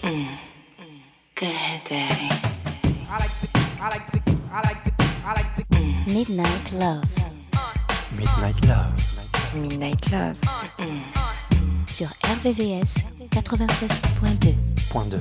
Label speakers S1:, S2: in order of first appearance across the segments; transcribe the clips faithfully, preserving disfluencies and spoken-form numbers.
S1: Go ahead, Daddy.
S2: I like the, I like the, I like the, I like the
S1: Mm. Midnight Love.
S3: Midnight Love.
S1: Midnight Love. Mm. Sur R V V S quatre-vingt-seize point deux.
S3: Point deux.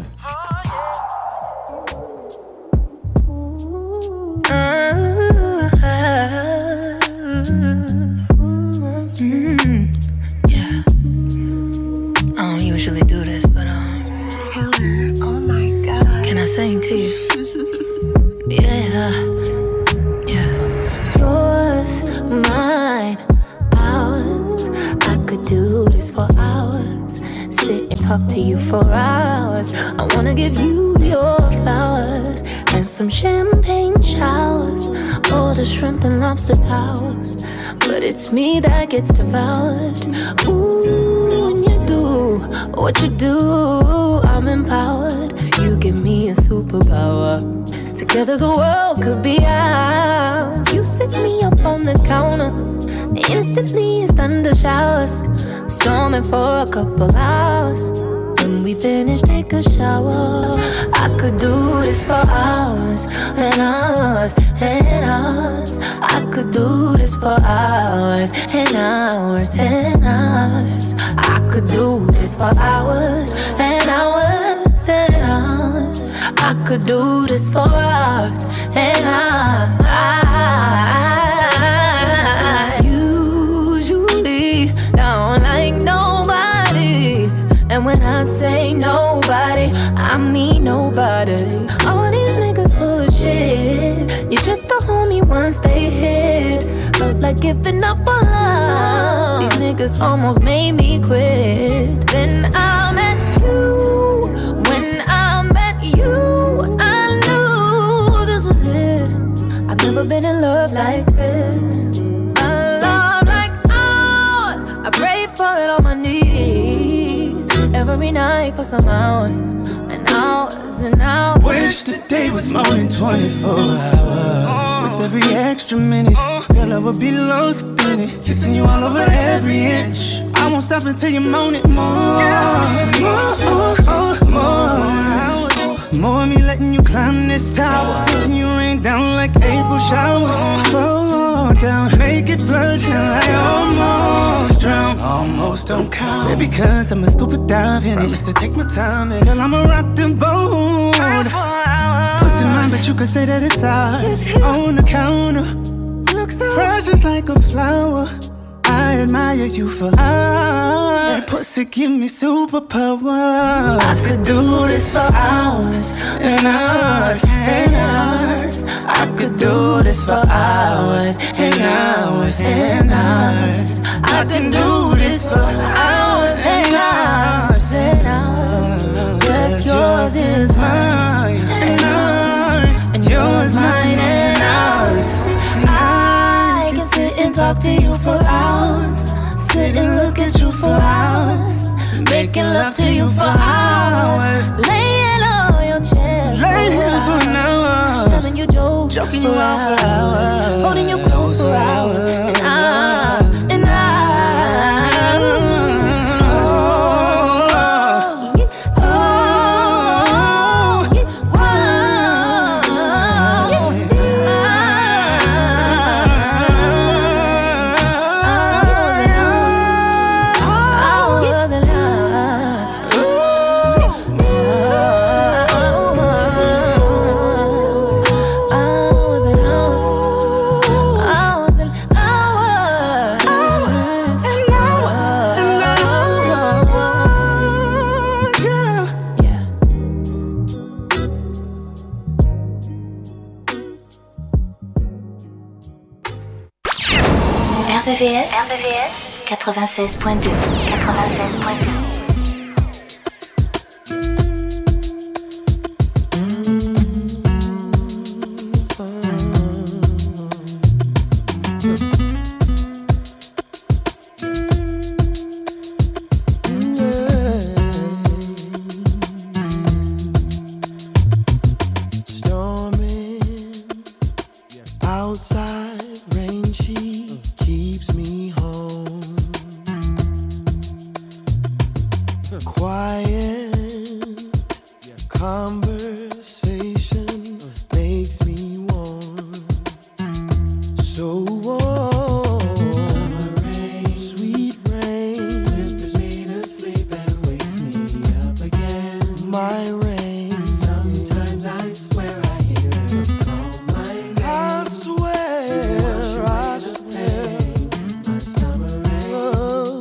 S4: Mm, yeah. I don't usually do this, but um.
S5: Killer, oh my god.
S4: Can I sing to you? Yeah, yeah.
S6: Yours, mine, ours. I could do this for hours. Sit and talk to you for hours. I wanna give you your flowers and some champagne showers, all the shrimp and lobster towers. But it's me that gets devoured. Ooh, when you do what you do, I'm empowered. You give me a superpower. Together the world could be ours. You sit me up on the counter. Instantly it's thunder showers, storming for a couple hours. When we finish, take a shower. I could do this for hours and hours and hours. I could do this for hours and hours and hours. I could do this for hours and hours and hours. I could do this for hours and hours. Usually don't like nobody, and when I say nobody, I mean nobody. All these niggas full of shit. You're just a homie once they hit. Felt like giving up on love. These niggas almost made me quit. Then I met you. When I met you, I knew this was it. I've never been in love like this. A love like ours. I pray for it on my knees every night for some hours and hours and hours.
S7: Wish the day was more than twenty-four hours. With every extra minute, girl, I would be lost in it. Kissing you all over every inch. I won't stop until you moan it more. More, more, more. More me letting you climb this tower. Making you rain down like April showers. Fall down, make it flood till I almost drown. Almost don't count. Baby, cause I'ma scuba dive in it just to take my time. And girl, I'ma rock the boat. Pussy mine, but you can say that it's ours. On the counter, looks so precious like a flower. I admire you for hours. That pussy give me superpower.
S6: I could do this for hours and hours and hours. I could do this for hours and hours and hours. I could do this for hours and hours and hours. What's yours is mine and ours, and yours mine and ours. I can sit and talk to you for hours, sit and look at you for hours, making love to you for hours, laying on your chest,
S7: laying for an hour,
S6: telling you jokes,
S7: joking you out for hours,
S6: holding you close for hours, and I, and I, oh, oh, oh,
S1: R V V S, R V V S quatre-vingt-seize point deux. quatre-vingt-seize point deux.
S7: conversation makes me warm, so warm. Summer rain, sweet rain, whispers me to sleep and wakes me up again. My rain, sometimes I swear I hear her call my name. I swear, I swear, my summer rain. Oh.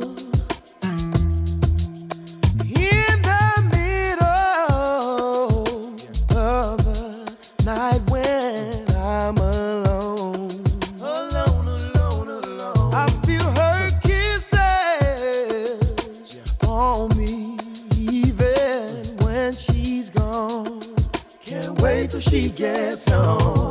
S7: In the middle of the night when I'm alone, alone, alone, alone, I feel her kisses on me, even when she's gone. Can't wait till she gets home.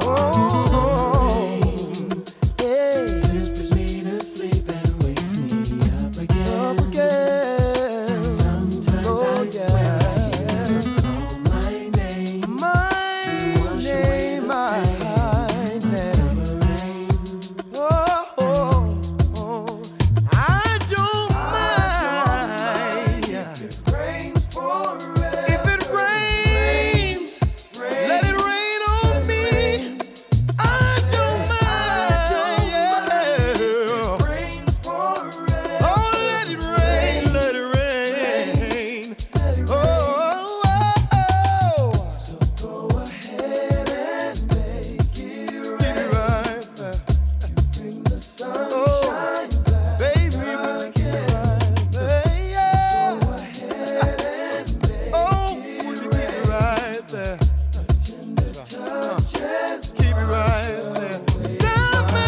S7: Hey, whispers me to sleep and wakes me up again. Up again. Sometimes oh, I yeah. swear I hear her call my name. My name, my name. Summer rain. Oh, oh, oh. I don't mind. If it rains forever. If it rains, let it rain on me. I don't mind. Yeah. Rains forever. Oh, let it rain, let it rain. Oh, oh, oh. So go ahead and make it right. Bring the sunshine back. Baby, make it right. Yeah. Go ahead and make oh, would you keep it right there? Tender touches. Keep it right there. Summer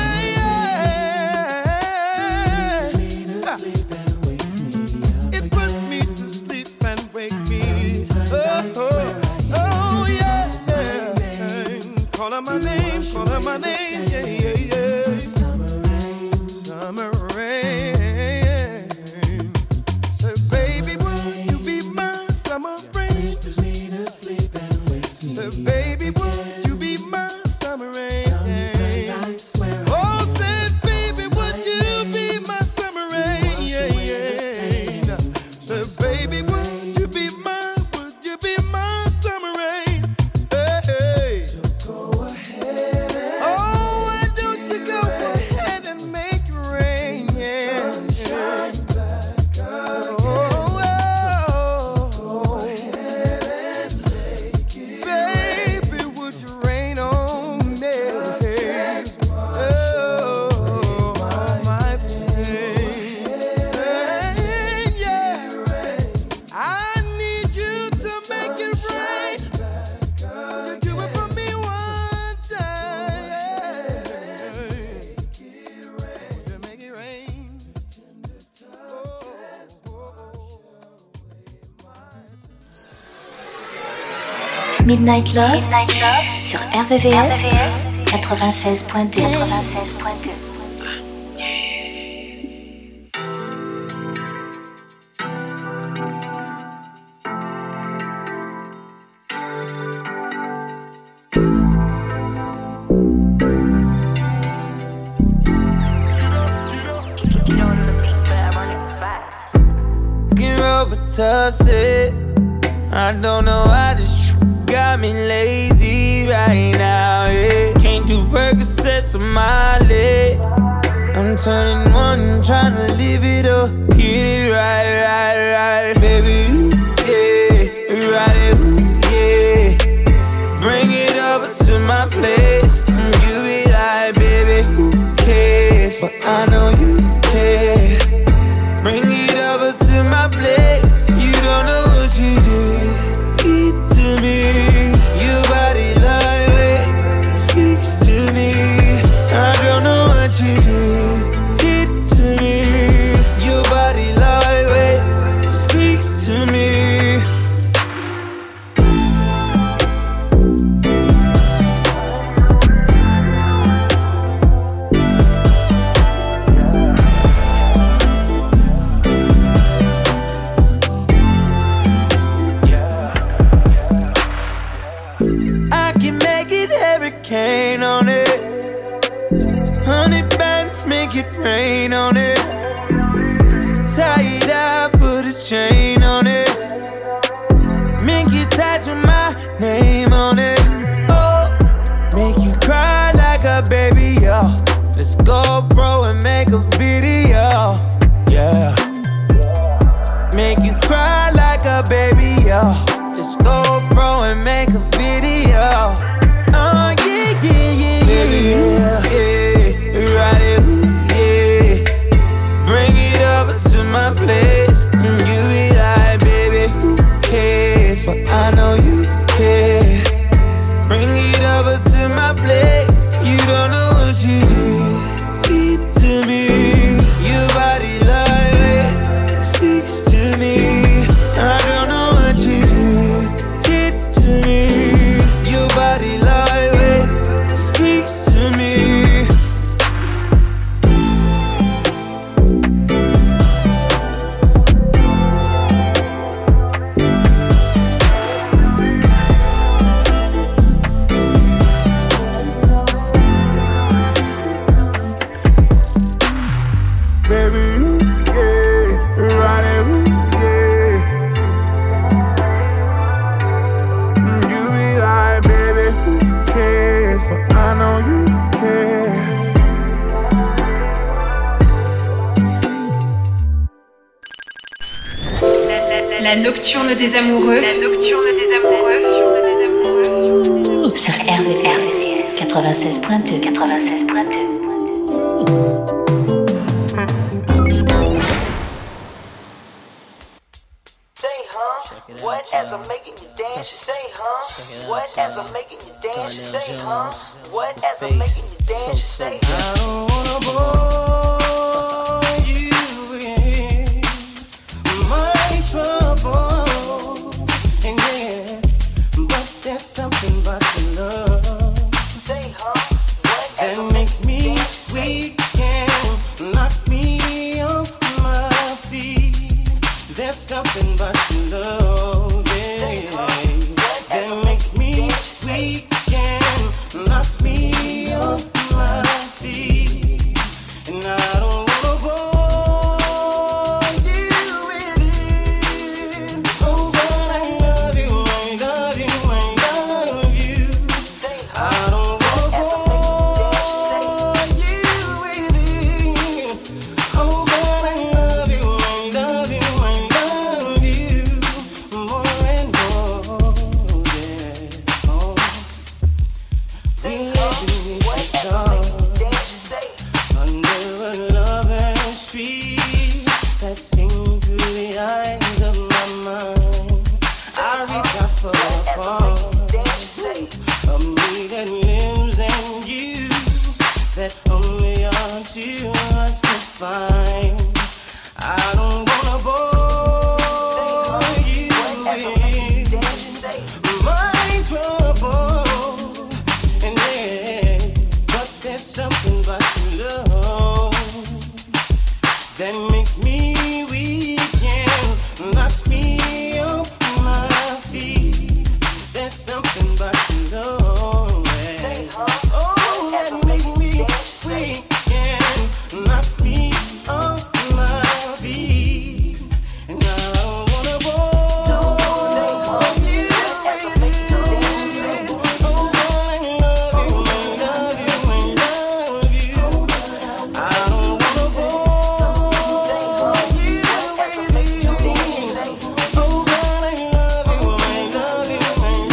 S7: rain. It puts me to sleep and wakes me up. Oh, oh, oh, yeah, yeah. Call her my name, call her my name, yeah, yeah, yeah. Summer rain, summer rain. So baby, would you be my summer rain? Whispers me to sleep and wakes me so baby, would you be my summer rain? Sometimes I swear. Oh, said baby, would you be my summer rain? Yeah, yeah. So baby, would you be my, would you be my summer rain? Hey, hey. So go ahead and oh, why don't you go ahead and make it rain? Yeah. Sunshine back again. Oh, oh, oh. Go ahead and make it baby, would you rain on me? Oh, my pain. Yeah. I need you to make it rain. You do it for me one time. Would you make it rain?
S1: Midnight Love, sur R V V S quatre-vingt-seize point deux. quatre-vingt-seize point deux.
S7: Get Robitussin. I don't know why this shit got me lazy right now, yeah. Can't do Percocets on my leg. I'm turning one, trying to live it up. Get it right, right, right, baby, ooh, yeah. Ride it, ooh, yeah. Bring it over to my place. And you be like, baby, who cares? But I know you care. Bring it over to my place. You don't know what you did. Eat to me. Your body lightweight speaks to me. I don't know what you did. Did to me. Your body lightweight speaks to me. Hurricane on it, honey bands make it rain on it. Tie it up, put a chain on it. Make it tied to my name on it. Oh, make you cry like a baby, yo. Let's go, bro, and make a video, yeah. Make you cry like a baby, yo. Let's go, bro, and make a video. Oh, yeah, yeah, yeah, baby, yeah, yeah. Ride it, yeah. Bring it over to my place. And you be like, baby, who cares? But I know you care. Bring it over to my place. You don't know what you did. Keep to me. Your body like it speaks to me. I don't know what you did. Keep to me. Your body like it speaks to me.
S8: La nocturne des amoureux. La nocturne des amoureux.
S1: Sur R V V S quatre-vingt-seize point deux. quatre-vingt-seize point deux.
S9: What as I'm making you dance, you say, huh? What as I'm making you dance, you say, huh? What as I'm making you dance, you say,
S7: I don't wanna bore you in my trouble, and yeah, but there's something about your love,
S9: say, huh? What as
S7: that
S9: I'm
S7: makes
S9: making you
S7: me
S9: dance, you say,
S7: weak and knocks me off my feet. There's something about your love, yeah, that makes me weak and knocks me off my feet. And I don't wanna bore you with it. Oh, but I love you, I love you, I love you. I don't wanna bore you with it. Oh, but I love you, I love you, I love you more and more, yeah. Oh, we do
S9: what
S7: this
S9: as I'm making
S7: song
S9: you dance, you say,
S7: under a loving street that sings through the eyes of my mind. I reach out for a part
S9: dance, you say,
S7: of me that lives in you, that only our two hearts can find. I don't wanna bore you
S9: what as I'm making you
S7: with
S9: dance, you say,
S7: my trouble, and yeah, but there's something about your love that makes me weak and knocks me off my feet. There's something about your love, yeah. Oh, that makes me weak and knocks me off my feet. And I don't wanna bore you with it. Oh, I love you, I love you, I love you. I don't wanna bore you with it. Oh, I love you, I love you, I love you.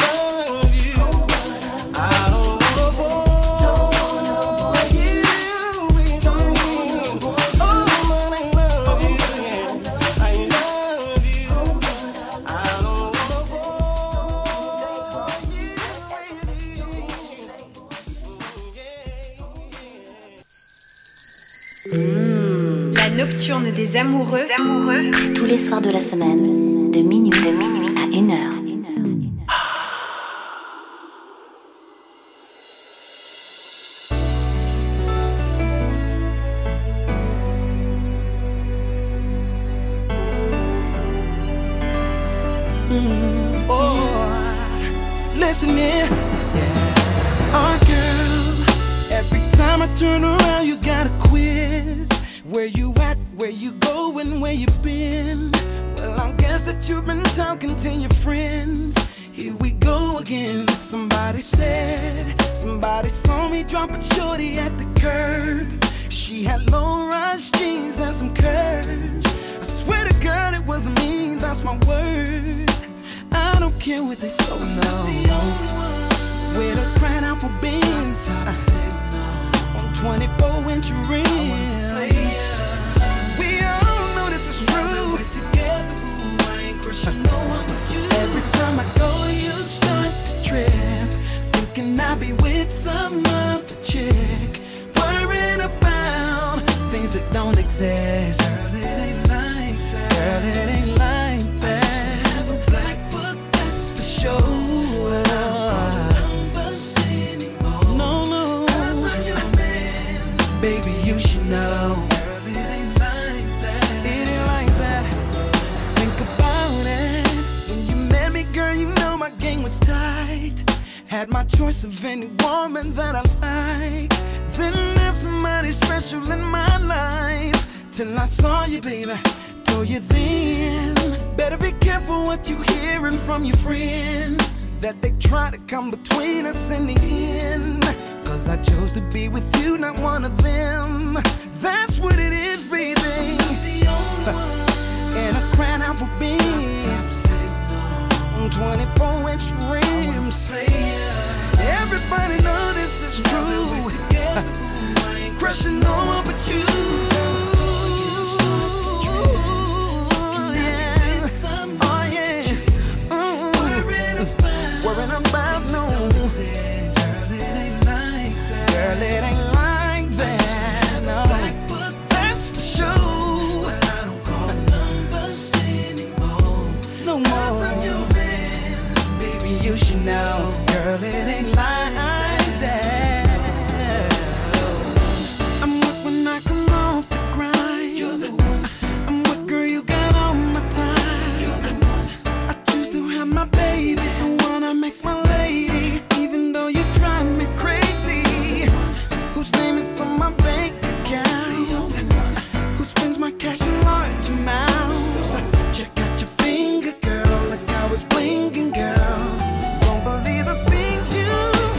S7: I don't wanna bore you with it. Oh, I love you, yeah, I love you. I don't wanna bore you with it.
S8: La nocturne des amoureux. amoureux.
S1: C'est tous les soirs de la semaine, de minuit à une heure.
S7: Oh, listen in. Oh, girl, every time I turn around, you got a quiz. Where you at, where you going, where you been? Well, I guess that you've been talking to your friends. Here we go again. again. Somebody said, somebody saw me dropping shorty at the curb. She had low-rise jeans and some curves. I swear to God it wasn't me, that's my word. I don't care what they say, no. With a crown apple beans, I said no. On twenty-four inch rings. We all know this is true. Together, boo, I ain't crushing no one but you. Every time I go, you start to trip, thinking I'll be with some other chick, worrying about things that don't exist. Girl, it ain't like that. Girl, it ain't like that. I used to have a black book, that's for sure. Baby, you should know. Girl, it ain't like that. It ain't like that. Think about it. When you met me, girl, you know my game was tight. Had my choice of any woman that I like. Then there's somebody special in my life. Till I saw you, baby. Told you then. Better be careful what you hearing from your friends. That they try to come between us in the end. Cause I chose to be with you, not one of them. That's what it is, baby. And a crown apple beans, twenty-four inch rims. Everybody know this is true. Crushing no one but you. Oh yeah. Worrying about no. Girl, it ain't like that, no. That's for sure. But I don't call numbers anymore. No more. Cause I'm your man. Baby, you should know. Girl, it ain't like that. I'm what when I come off the grind. You're the one. I'm what, girl, you got all my time. You're the one. I choose to have my baby. I wanna make my lady. Even though you drive me crazy. Whose name is on my bank account? Who spends my cash in large amounts? Check out your finger, girl, like I was blinking, girl. Won't believe the things you've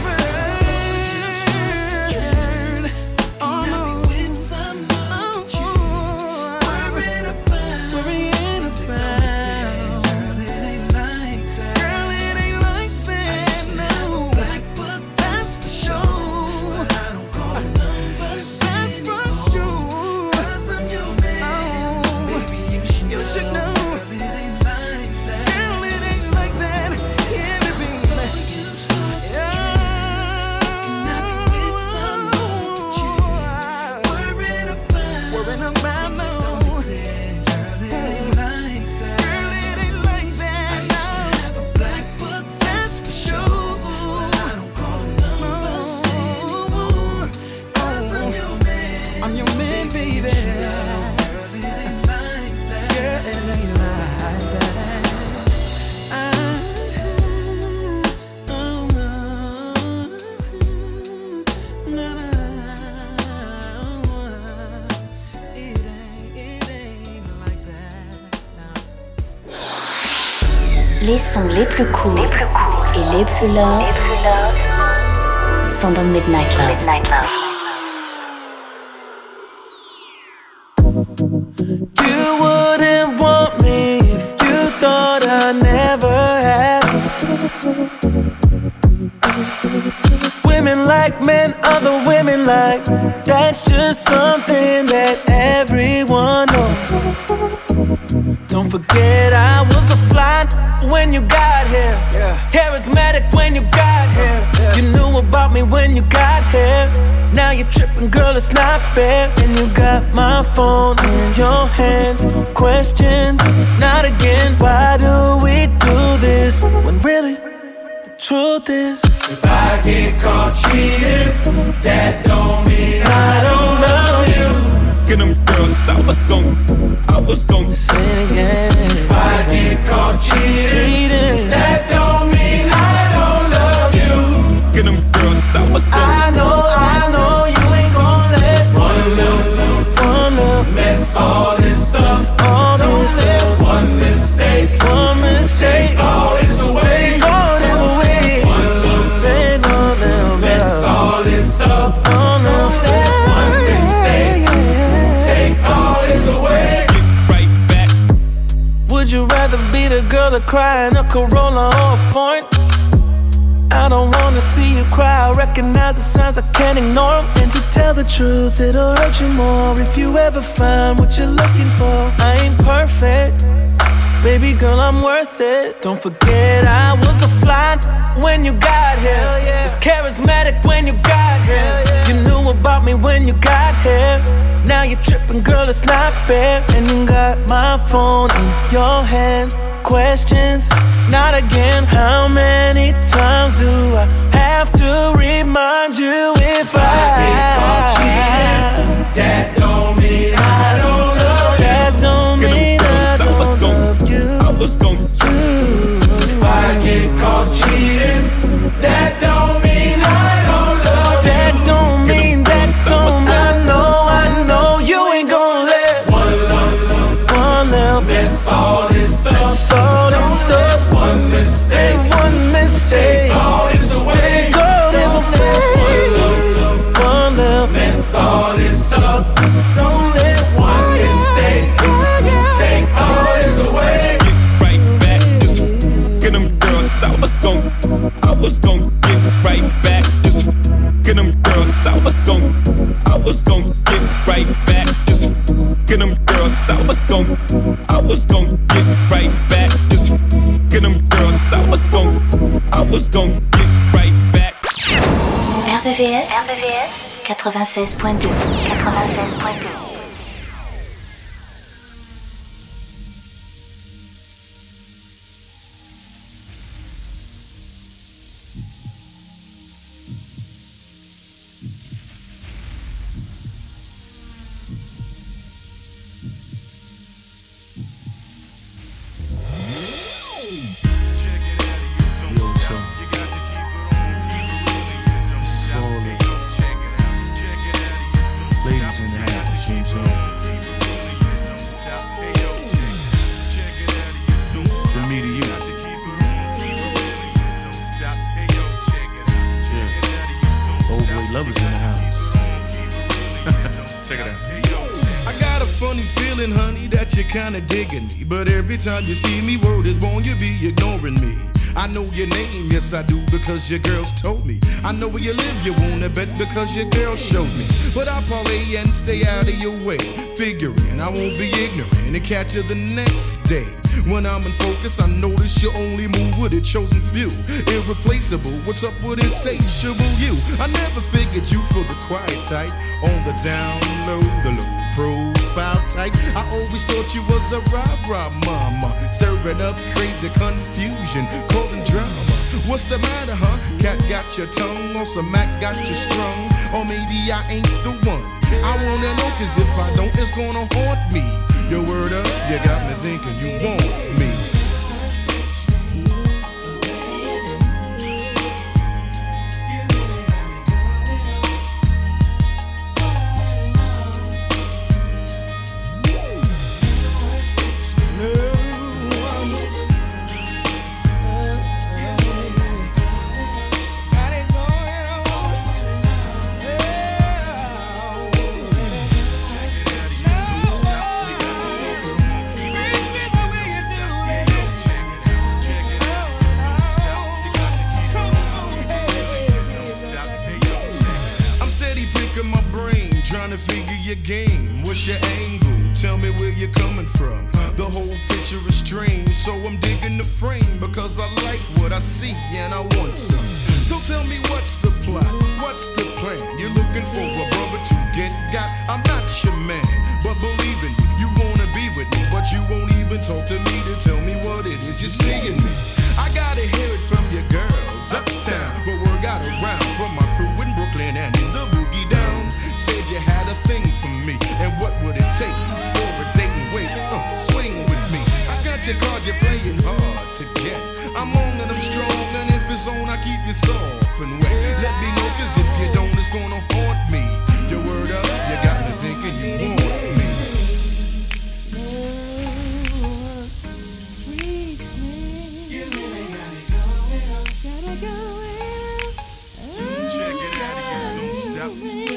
S7: heard. Oh no, with some oh, oh, worrying about, worrying about. Girl, it ain't like that. Girl, it ain't like that. No, black book, that's for sure.
S1: Les sons les plus courts et les plus love sont dans Midnight Love. Midnight Love.
S10: You wouldn't want me if you thought I never had. Women like men, other women like. That's just something that everyone knows. Don't forget I was a fly when you got here, yeah. Charismatic when you got here, yeah. You knew about me when you got here. Now you're tripping, girl, it's not fair. And you got my phone in your hands. Questions, not again. Why do we do this when really the truth is,
S11: if I get caught cheating, that don't mean I don't love you. Get them girls, I was gon', I was gon'
S10: say it again.
S11: If I get caught cheating, that don't mean I don't love you. Get them girls, I was gon',
S10: I know, I know you ain't gon' let
S11: one little,
S10: one little
S11: mess all this up.
S10: All
S11: don't
S10: this
S11: let
S10: up.
S11: one mistake,
S10: one mistake,
S11: take all this away.
S10: Take all this away. rather cry in a Corolla or a foreign. I don't wanna see you cry. I recognize the signs, I can't ignore them. And to tell the truth, it'll hurt you more if you ever find what you're looking for. I ain't perfect, baby girl, I'm worth it. Don't forget I was a fly when you got here. Yeah. Was charismatic when you got here. Yeah. You knew about me when you got here. Now you're tripping, girl, it's not fair. And you got my phone in your hand. Questions, not again. How many times do I have to remind you if I,
S11: I get caught cheating? That don't mean I don't love you.
S10: That don't mean I don't love you.
S11: I was gon' you. If I get caught cheating, that don't mean I don't love you.
S10: That don't mean, that don't mean I know, I know you ain't gon' let
S11: one love,
S10: one love
S11: mess all this up.
S10: All this up.
S11: One mistake,
S10: one mistake.
S11: Take all this away.
S10: Take all this away.
S11: One love,
S10: one love,
S11: mess all this up. Don't let one mistake take all this away.
S12: Get right back, just get them girls. I was gon', I was gon' get right back, just get them girls. I was gon', I was gon' get right back, just get them girls. I was gon', I was gon' get right back, just get them girls. I was gon', I was gon' get right back.
S1: R V V S, R V V S quatre-vingt-seize point deux, quatre-vingt-seize point deux.
S13: Kinda digging me, but every time you see me, word is born, you be ignoring me. I know your name, yes I do, because your girls told me. I know where you live, you wanna bet because your girl showed me. But I parlay and stay out of your way, figuring I won't be ignorant and catch you the next day. When I'm in focus, I notice you only move with a chosen few. Irreplaceable, what's up with insatiable you? I never figured you for the quiet type. On the down low, the low profile type. I always thought you was a rah-rah mama, stirring up crazy confusion, causing drama. What's the matter, huh? Cat got your tongue, or some Mac got you strung, or maybe I ain't the one. I wanna know, cause if I don't, it's gonna haunt me. Your word up, you got me thinking you want me. Game, what's your angle? Tell me where you're coming from. The whole picture is strange, so I'm digging the frame because I like what I see and I want some. So tell me what's the plot, what's the plan? You're looking for a brother to get got. I'm not your man, but believe in me, you wanna be with me, but you won't even talk to me to tell me what it is you're seeing me. I gotta hear it from your girls uptown, but word got around from my crew in Brooklyn and in the boogie down. Said you had a thing for me, and what would it take for a date and wait? Uh, swing with me. I got your card, you're playing hard to get. I'm on and I'm strong, and if it's on, I keep you soft and wet. Let me know, cause if you don't, it's gonna haunt me. Your word up, you got me thinking you want me. Check it out, you don't stop me.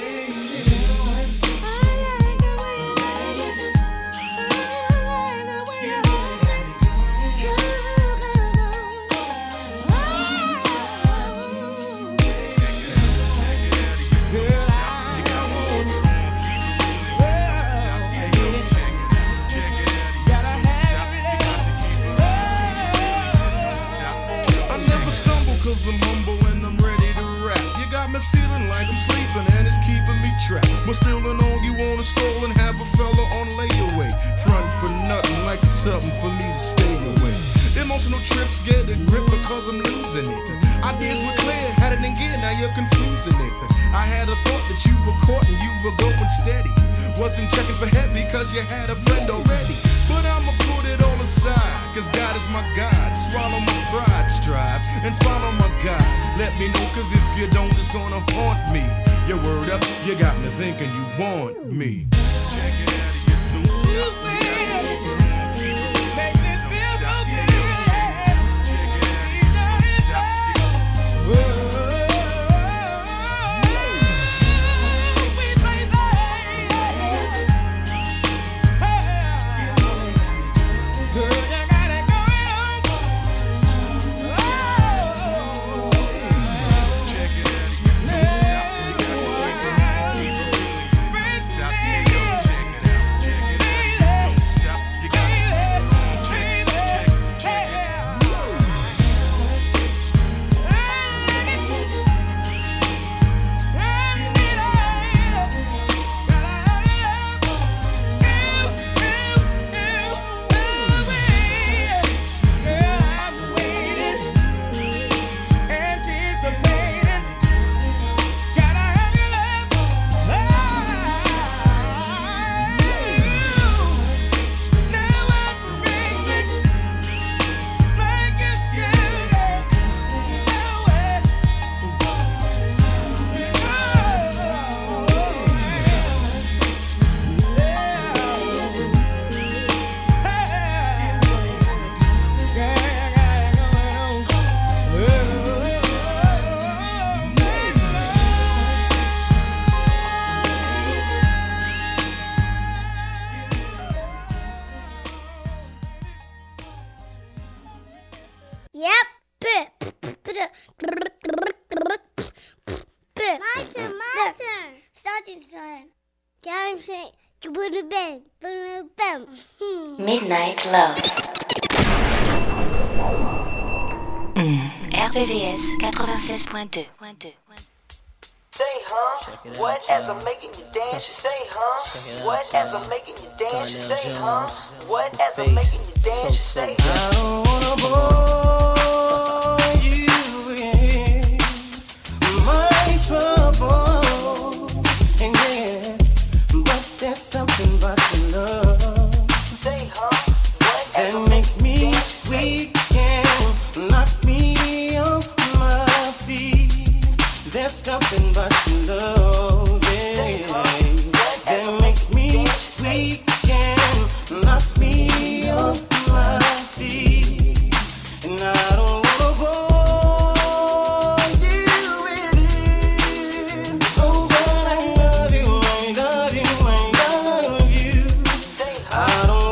S13: cause I'm humble and I'm ready to rap. You got me feeling like I'm sleeping and it's keeping me trapped. But still and all you wanna stall and have a fella on layaway. Front for nothing like it's something for me to stay away. Emotional trips get a grip because I'm losing it. Ideas were clear, had it in gear, now you're confusing it. I had a thought that you were caught and you were going steady. Wasn't checking for heavy cause you had a friend already. But I'ma put it all aside, cause God is my guide. Swallow my pride, strive, and follow my guide. Let me know, cause if you don't, it's gonna haunt me. Your word up, you got me thinking you want me. Check it out, you don't stop.
S1: Midnight Love. Mm. R V V S quatre-vingt-seize point deux.
S9: Say, huh? What as I'm making you dance? You say, huh? What as I'm making you dance? You say, huh? What as I'm making you dance? You say,
S10: I don't wanna bore you in my trouble, and yeah, but there's something about your love that makes me weak and knocks me off my feet. There's something about your love, yeah, that makes me weak and knocks me off my feet. And I don't wanna bore you with it. Oh, but I love you, I love you, I love you. I don't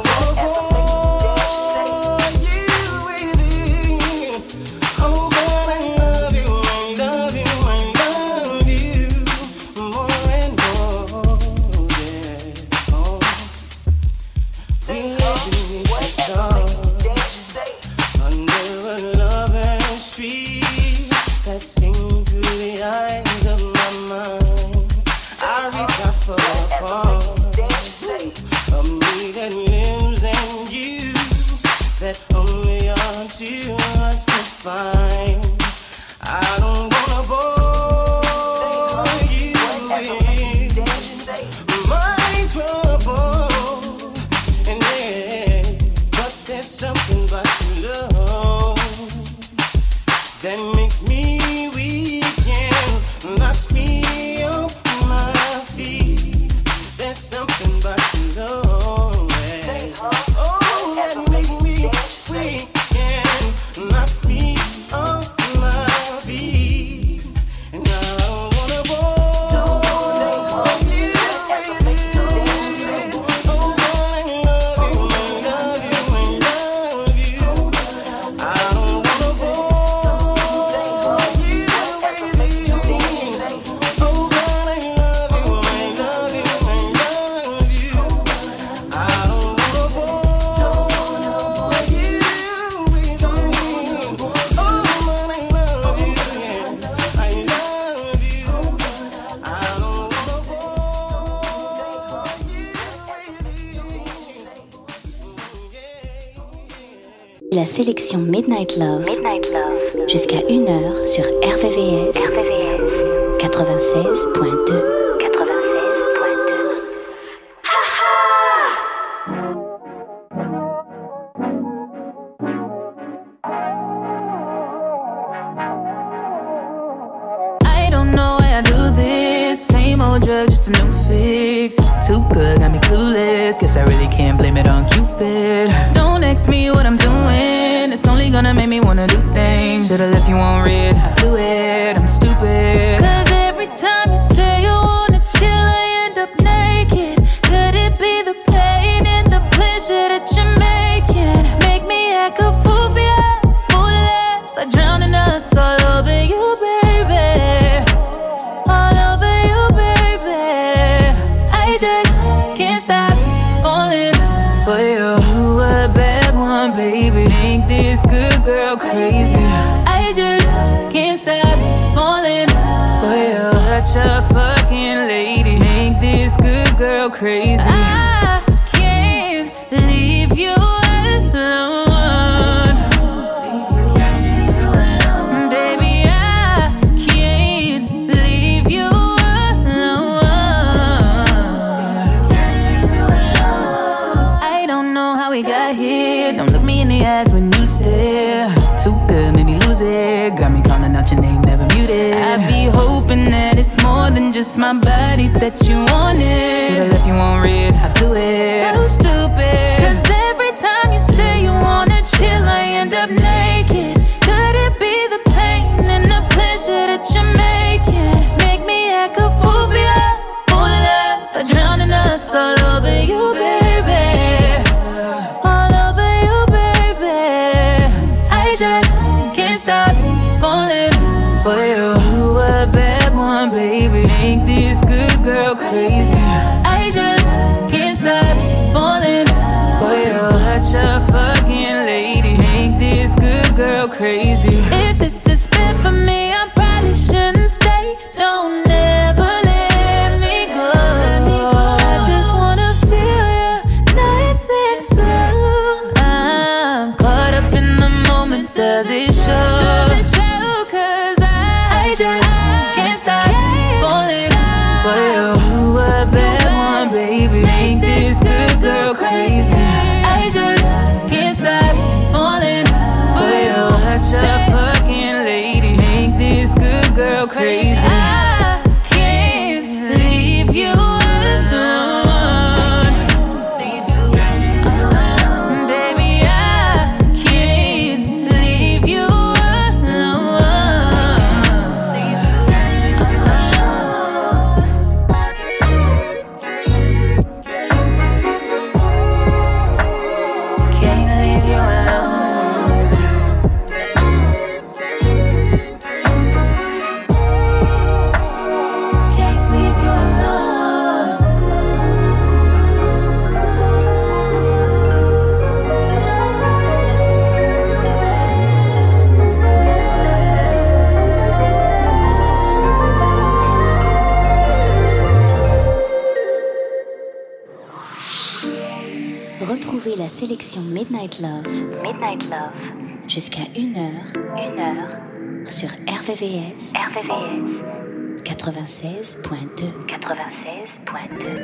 S10: Oh,
S1: sélection Midnight Love, Midnight Love. Jusqu'à une heure sur R V V S, R V V S. quatre-vingt-seize point deux.
S4: Drug, just a new fix. Too good, got me clueless. Guess I really can't blame it on Cupid. Don't ask me what I'm doing. It's only gonna make me wanna do things. Should've left you on red. I blew it, I'm stupid. Cause every time you say you wanna chill, I end up naked. Could it be the pain and the pleasure that you're making? Make me act a fool for you, fool it, by drowning us all over you, baby. All over you, baby. I just can't stop falling for you. You a bad one, baby. Make this good girl crazy. I just can't stop falling for you. Such a fucking lady. Make this good girl crazy. I can't leave you alone. Don't look me in the eyes when you stare. Too good, made me lose it. Got me calling out your name, never muted. I be hoping that it's more than just my body that you wanted. Should've left you on red, I blew it. So stupid. Cause every time you say you wanna chill, I end up naked. Could it be the pain and the pleasure that you're making? Make me act a fool for you, fool it up, by drowning us all over you, baby. Just can't stop falling for you. You a bad one, baby. Make this good girl crazy. I just can't stop falling for you. Such a fucking lady. Make this good girl crazy. If this is bad for me, I probably shouldn't stay. Don't ever let me go. I just wanna feel you nice and slow. I'm caught up in the moment. Does it show? Does it show? Cause I, I just can't stop falling for you. You a bad one, baby. Make this good girl crazy. I just can't stop falling for you. Such a fucking lady. Make this good girl crazy. I can't leave you alone.
S1: Retrouvez la sélection Midnight Love, Midnight Love, jusqu'à une heure, une heure, sur R V V S, R V V S, quatre-vingt-seize point deux, quatre-vingt-seize point deux.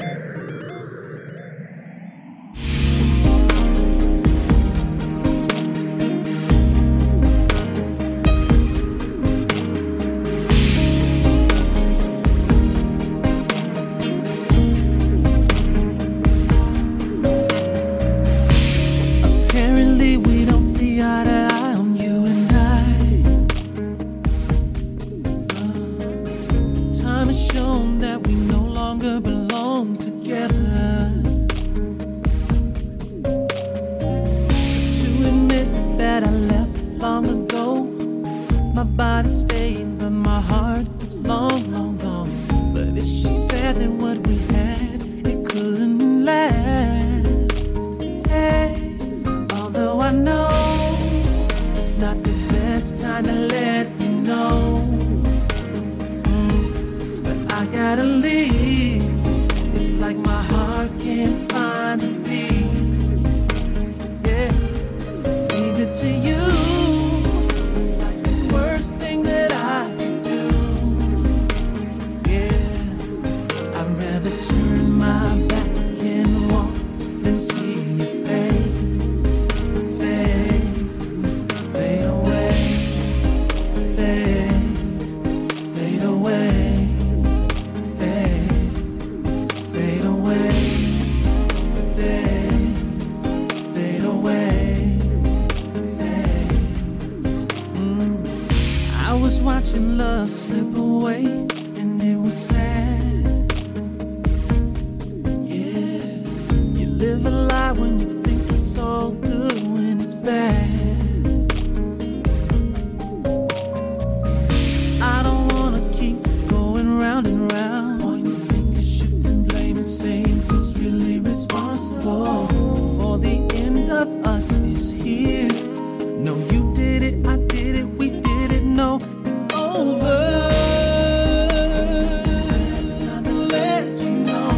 S10: To you. I was watching love slip away, and it was sad. Yeah, you live a lie when you think it's all good when it's bad. I don't wanna keep going round and round, pointing fingers, shifting blame, and saying who's really responsible for the end of us is here. No, you did it, I did it, we did it. No, it's over. It's time to let you know,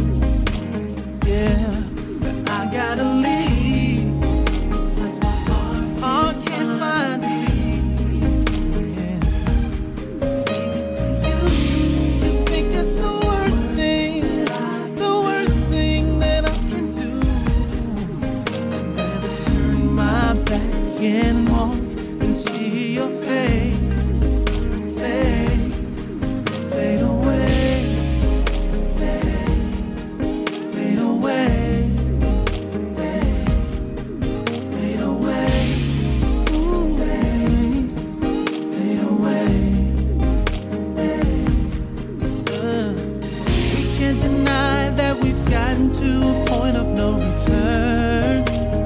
S10: yeah, that I gotta leave. It's like my heart, heart can't find me. Yeah, leave it to you. You think it's the worst thing, the worst thing that I can do. I'd rather turn my back and walk and see your face fade, fade away, fade, fade away, fade, fade away, ooh, fade, fade away, fade. Uh, we can't deny that we've gotten to a point of no return.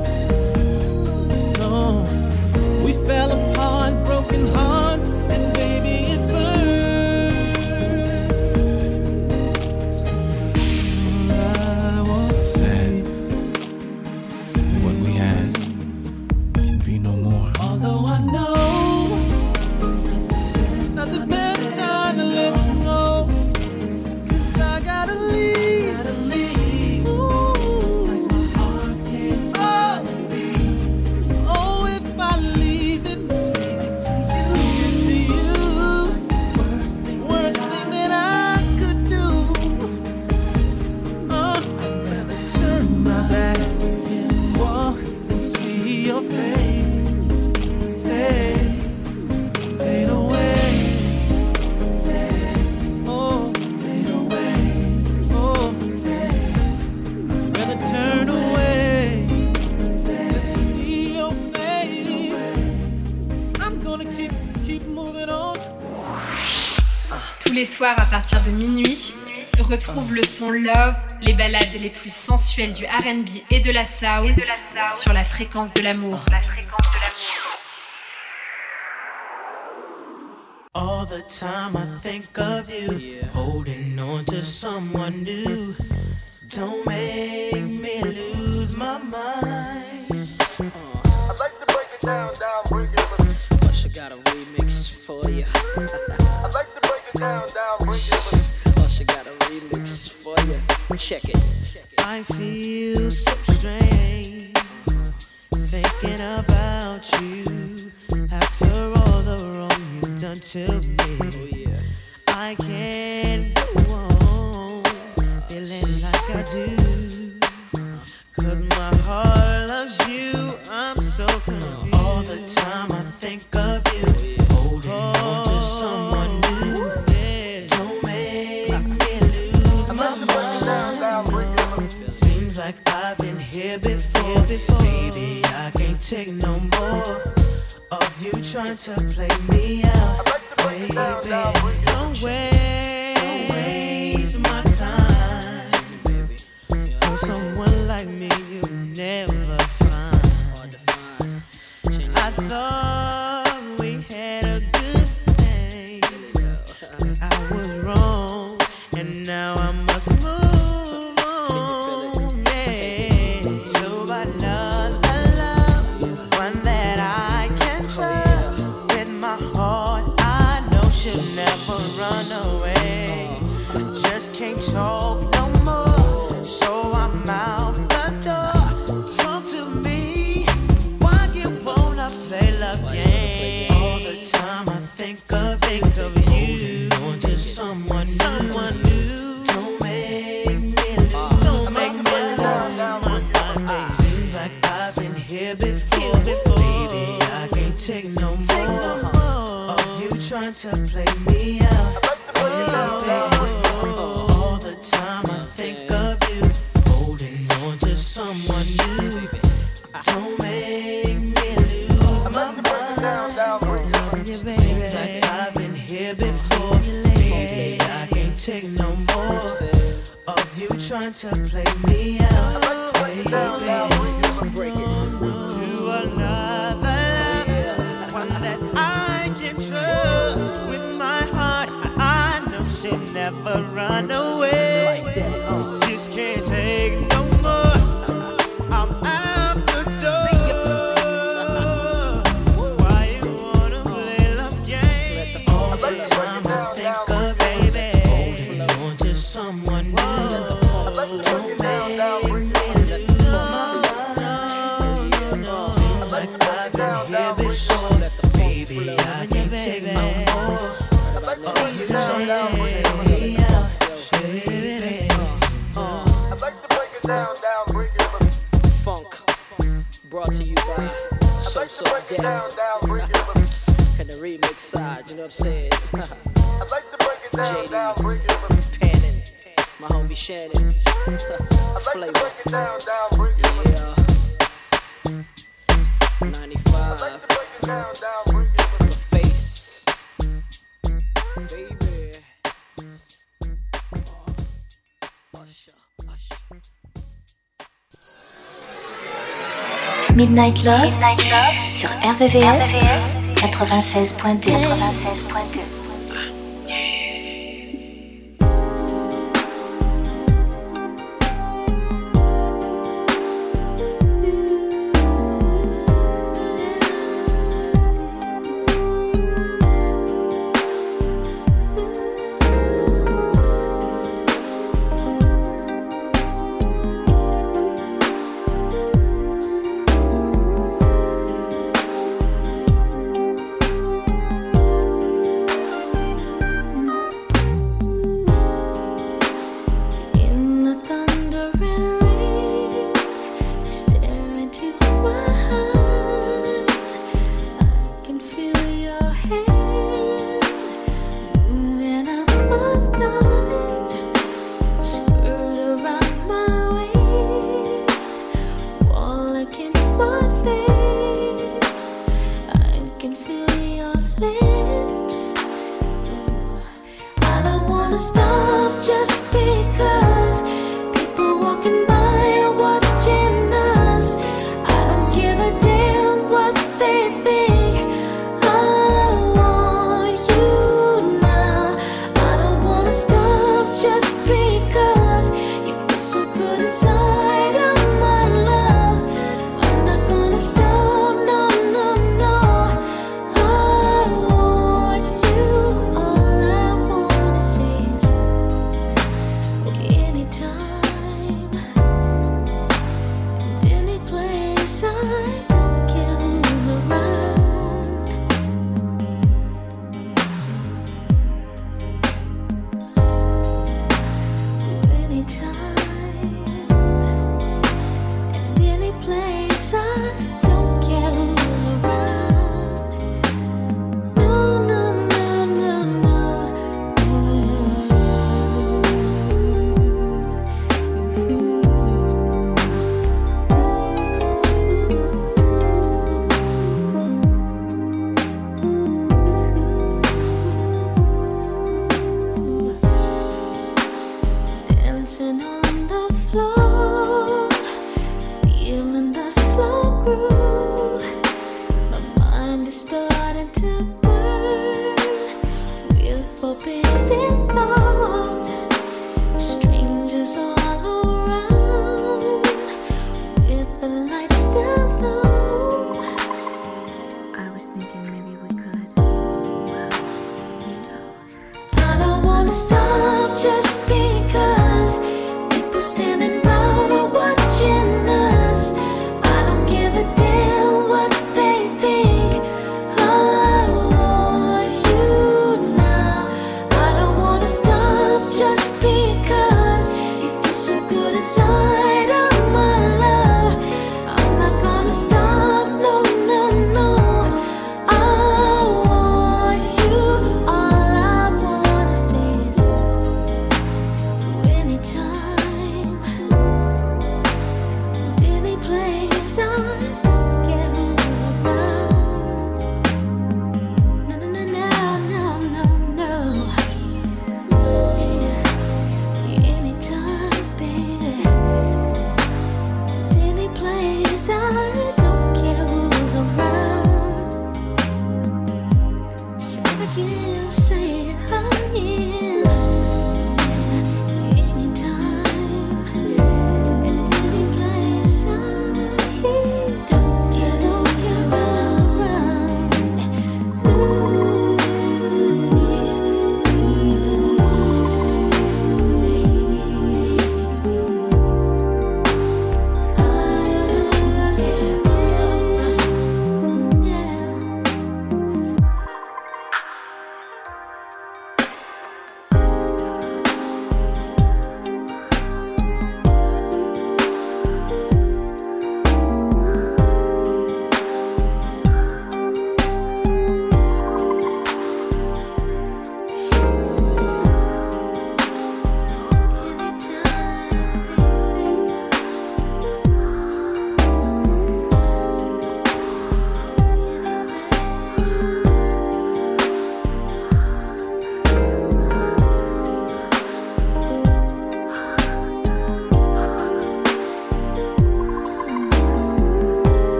S10: No, we fell apart, broken hearts, and baby it burns. I won't
S13: So sad. What we had can be no more.
S10: Although I know it's not the best time to let you know, 'cause I gotta leave, gotta leave. Ooh. It's like my heart can't find me. Oh, if I leave it, leave it to you, to you. Worst thing, worst thing that I could do. Uh, I'd rather turn my back and walk and see your face fade, fade away, fade, oh, fade away, oh, fade. I'd rather turn away and see your face. I'm gonna keep, keep moving on.
S8: Tous les soirs à partir de minuit, retrouve le son Love, les ballades les plus sensuelles du R and B et de la soul sur la fréquence de l'amour.
S10: All the time I think of you, holding on to someone new. Don't make me lose my mind.
S14: I'd like to break it down, down, break it.
S15: Plus, I got a remix for you.
S14: I'd like to break it down, down, break it.
S15: Plus, I got a remix for you. Check it.
S10: I feel so strange thinking about you after all the wrong you've done to me.
S15: Oh, yeah.
S10: I can't go on feeling like I do, 'cause my heart loves you. I'm so confused. All the time I think of you, holding on to someone new. Don't make me lose my mind. Seems like I've been here before, before. Baby, I can't take no more of you trying to play me out. Baby, don't waste, don't waste my time. For someone like me, you never find. I thought we had a good thing, but I was wrong, and now I must move on. Yeah, to another love, one that I can trust. With my heart, I know she'll never run away. Just can't talk no more, so I'm out the door. Talk to me, why you wanna play love games? All the time I think of, think of you, going to someone, someone new. Don't make me lose, don't make me lose my mind. Seems like I've been here before, before. Baby, I can't take no more of you trying to play me out. All the time I think of you, holding on to someone new. Don't make me lose my mind. Seems like here before. Baby, I can't take no more of you trying to play me out. Baby, to another love, one that I can trust with my heart. I know she'll never run away. Just can't take no more. I'm out the door. Why you wanna play love game? All the time I think of baby, holding on to someone new. Don't make me lose my mind. Seems like I've been here before. Baby, I can't take no more. Oh, you trying to take me out, baby.
S14: I'd like to break it down, down, break it for me.
S15: Funk, brought to you by
S14: I'd
S15: So
S14: like to
S15: So
S14: break it down,
S15: Death.
S14: down, break it for me.
S15: And the remix side, you know what I'm saying?
S14: I'd like to break it down,
S15: J D,
S14: down, break it for me.
S15: Panning, my homie Shannon.
S14: I'd like
S15: Flavor.
S14: to break it down, down, break it for me.
S15: Yeah.
S14: I'd
S15: ninety-five.
S14: like to break it down, down, break it for me.
S15: Face. Baby.
S1: Midnight Love, Midnight Love sur R V V S quatre-vingt-seize point deux. quatre-vingt-seize point deux.
S6: I don't want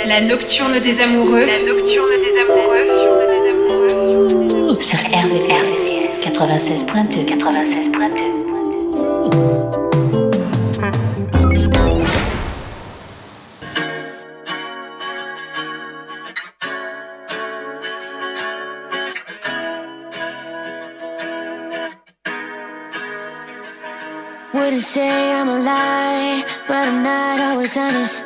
S8: La nocturne des amoureux. La nocturne des amoureux.
S1: Sur R V V S quatre-vingt-seize point deux. quatre-vingt-seize point deux.
S6: Wouldn't say I'm a lie, but I'm not always honest.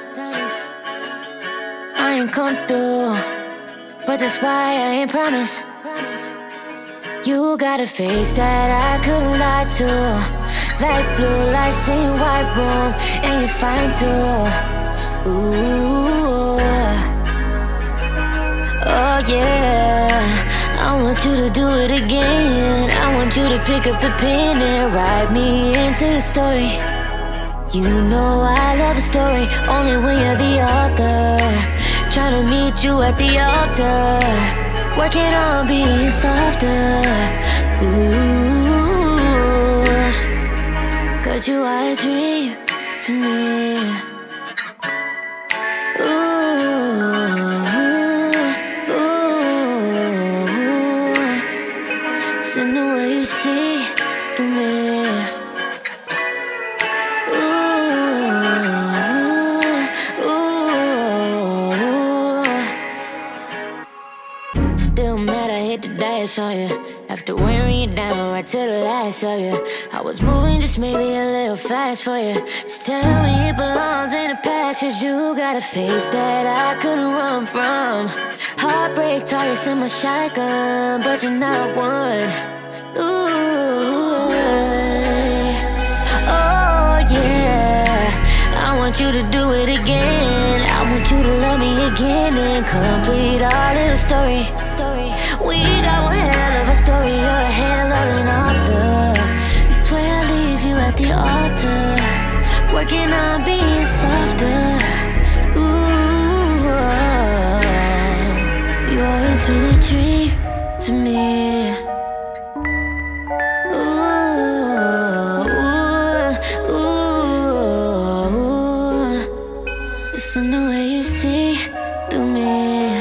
S6: I ain't come through, but that's why I ain't promised. You got a face that I couldn't lie to. Light blue, light same white room, and you're fine too. Ooh, oh yeah. I want you to do it again. I want you to pick up the pen and write me into your story. You know I love a story, only when you're the author. Trying to meet you at the altar, working on being softer. Ooh, 'cause you are a dream to me. In the way you see through me. Ooh, ooh. Still mad I hit the dash on you. After wearing you down right to the last of you. I was moving just maybe a little fast for you. Just tell me it belongs in the past, 'cause you got a face that I couldn't run from. Heartbreak targets in my shotgun, but you're not one. Ooh, oh yeah. I want you to do it again. I want you to love me again and complete our little story. We got one hell of a story, you're a hell of an author. You swear I'll leave you at the altar, working on being softer. Ooh, you always been a dream to me. Ooh, ooh, ooh. Listen to the way you see through me.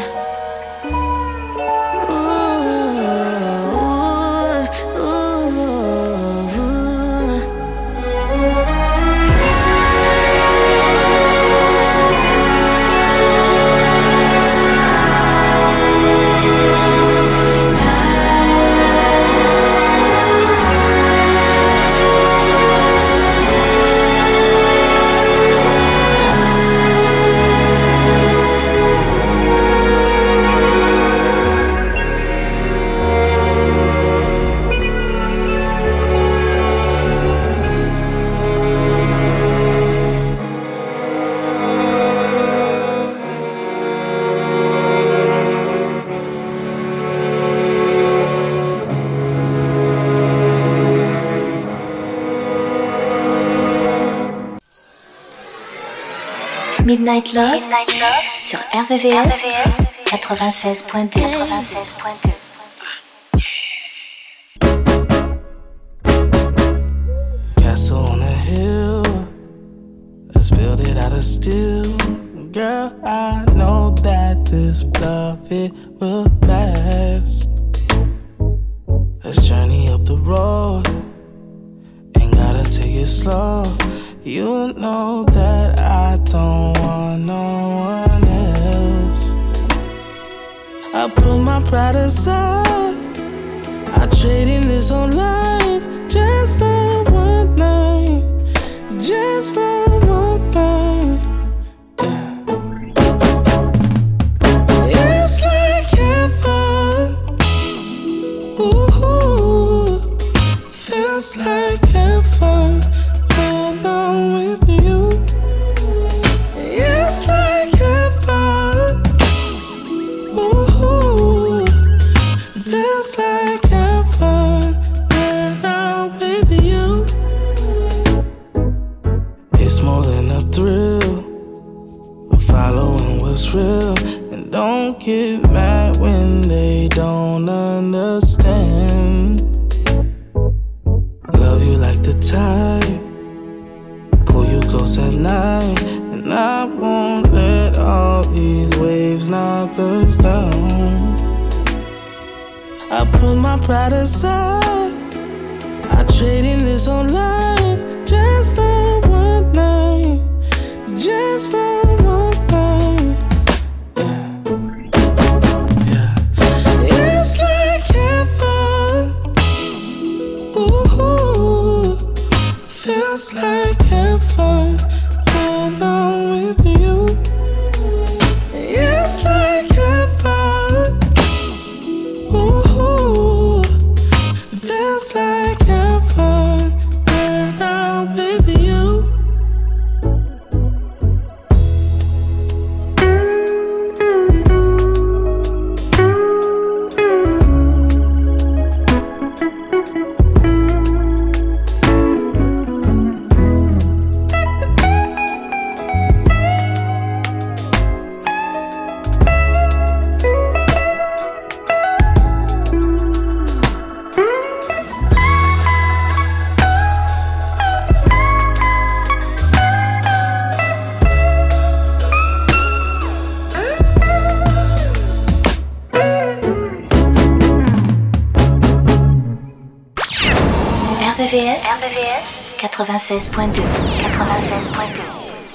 S1: Midnight Love, Midnight Love sur R V V S quatre-vingt-seize point deux. quatre-vingt-seize point deux.
S10: Castle on a hill, let's build it out of steel. Girl, I know that this love, it will last. Let's journey up the road, ain't gotta take it slow. You know that I don't want no one else. I put my pride aside, I trade in this on life just for one night, just for one night. Yeah. It's like heaven, ooh, feels like heaven. When I'm with you, it's like heaven. Ooh, it feels like heaven when I'm with you. It's more than a thrill, we're following what's real. And don't get mad when they don't understand. Love you like the tide, pull you close at night, and I won't let all
S7: these waves knock us down. I put my pride aside. I traded this on life just for one night. Just for one night. Yeah. Yeah. It's like heaven. Ooh. Feels like heaven when I'm with you. It's like heaven. Ooh, it feels like heaven when I'm with you.
S1: R V V S, R V V S quatre-vingt-seize point deux, quatre-vingt-seize point deux.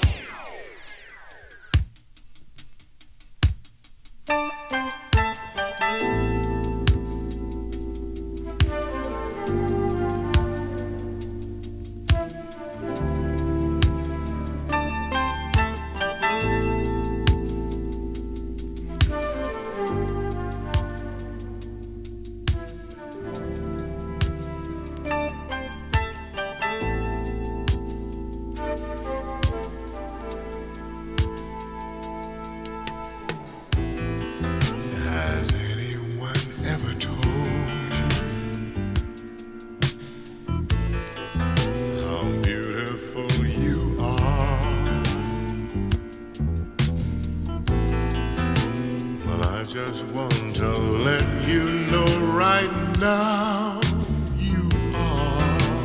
S13: Just want to let you know right now you are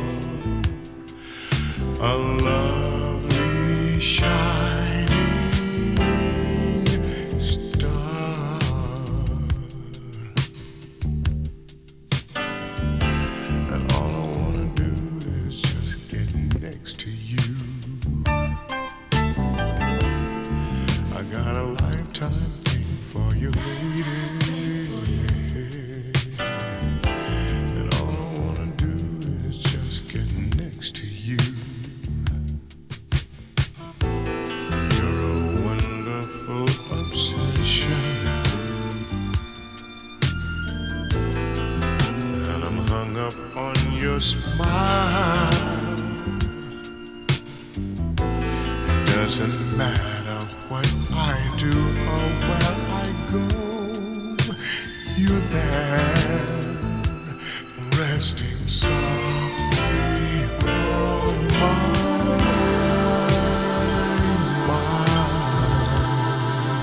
S13: a lovely shining star, and all I want to do is just get next to you. I got a lifetime for you, lady, and all I wanna do is just get next to you. You're a wonderful obsession, and I'm hung up on your smile. It doesn't matter what I do or where I go, you're there, resting softly on my mind.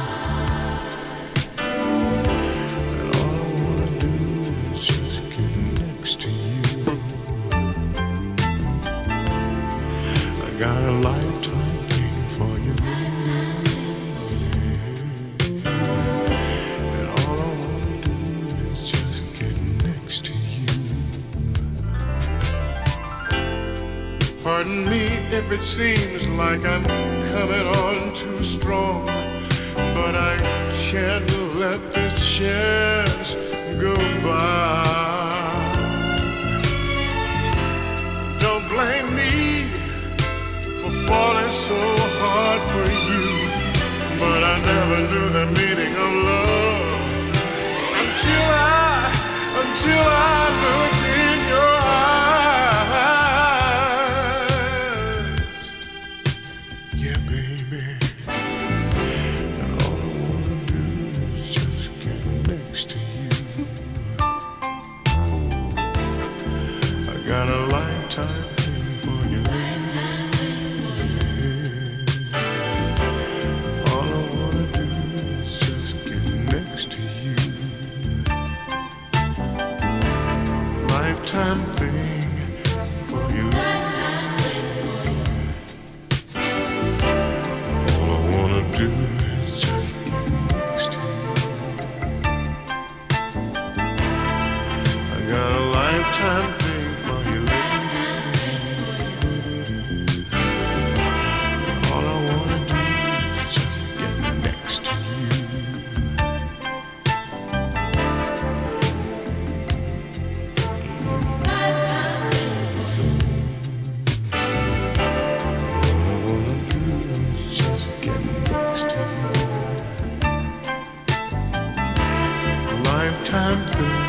S13: And all I wanna do is just get next to you. I got a lifetime thing for you, baby. Pardon me if it seems like I'm coming on too strong, but I can't let this chance go by. Don't blame me for falling so hard for you, but I never knew the meaning of love until I, until I looked in your eyes. Got a lifetime thing for you, lady. All I wanna do is just get next to you. Lifetime thing for you, lady. All I wanna do is just
S16: Lifetime through